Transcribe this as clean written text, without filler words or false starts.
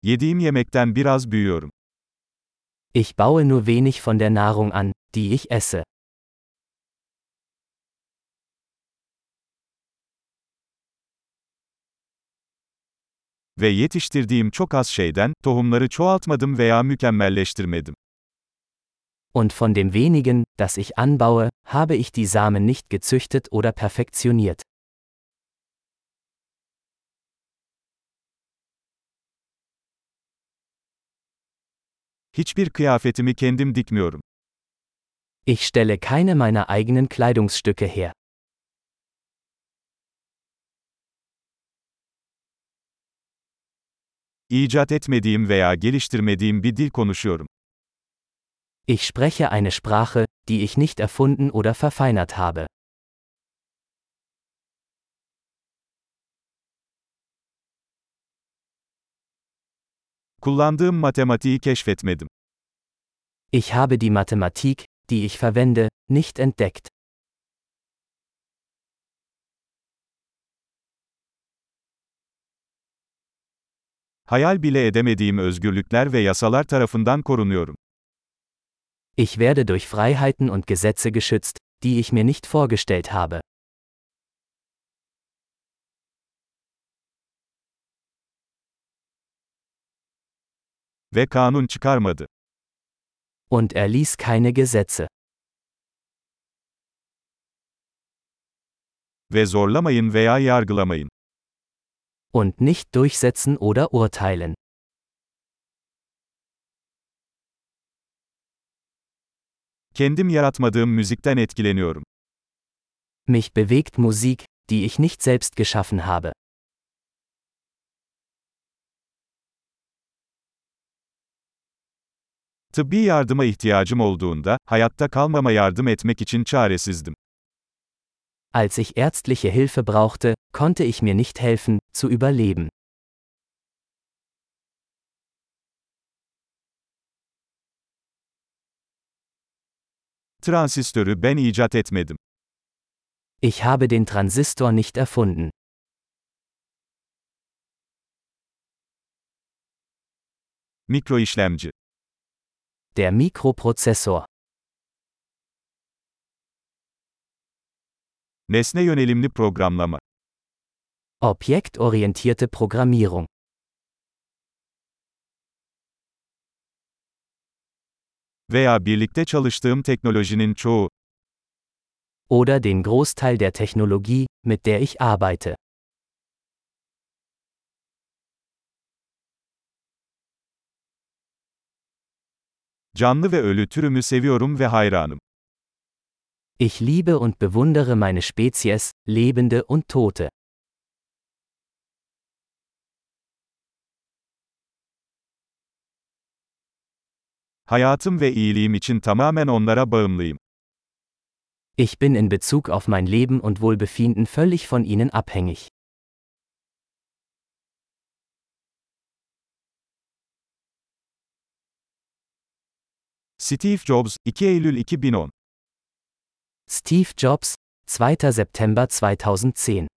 Yediğim yemekten biraz büyüyorum. Ich baue nur wenig von der Nahrung an, die ich esse. Ve yetiştirdiğim çok az şeyden, tohumları çoğaltmadım veya mükemmelleştirmedim. Und von dem wenigen, das ich anbaue, habe ich die Samen nicht gezüchtet oder perfektioniert. Hiçbir kıyafetimi kendim dikmiyorum. Ich stelle keine meiner eigenen Kleidungsstücke her. İcat etmediğim veya geliştirmediğim bir dil konuşuyorum. Ich spreche eine Sprache, die ich nicht erfunden oder verfeinert habe. Kullandığım matematiği keşfetmedim. Ich habe die Mathematik, die ich verwende, nicht entdeckt. Hayal bile edemediğim özgürlükler ve yasalar tarafından korunuyorum. Ich werde durch Freiheiten und Gesetze geschützt, die ich mir nicht vorgestellt habe. Ve kanun çıkarmadı. Und er ließ keine Gesetze. Ve zorlamayın veya yargılamayın. Und nicht durchsetzen oder urteilen. Kendim yaratmadığım müzikten etkileniyorum. Mich bewegt Musik, die ich nicht selbst geschaffen habe. Tıbbi yardıma ihtiyacım olduğunda, hayatta kalmama yardım etmek için çaresizdim. Als ich ärztliche Hilfe brauchte, konnte ich mir nicht helfen, zu überleben. Transistörü ben icat etmedim. Ich habe den Transistor nicht erfunden. Mikroişlemci. Der Mikroprozessor. Nesne yönelimli programlama. Objektorientierte Programmierung. Veya birlikte çalıştığım teknolojinin çoğu. Oder den Großteil der Technologie, mit der ich arbeite. Canlı ve ölü türümü seviyorum ve hayranım. Ich liebe und bewundere meine Spezies, Lebende und Tote. Hayatım ve iyiliğim için tamamen onlara bağımlıyım. Ich bin in Bezug auf mein Leben und Wohlbefinden völlig von ihnen abhängig. Steve Jobs, 2 Eylül 2010. Steve Jobs, 2. September 2010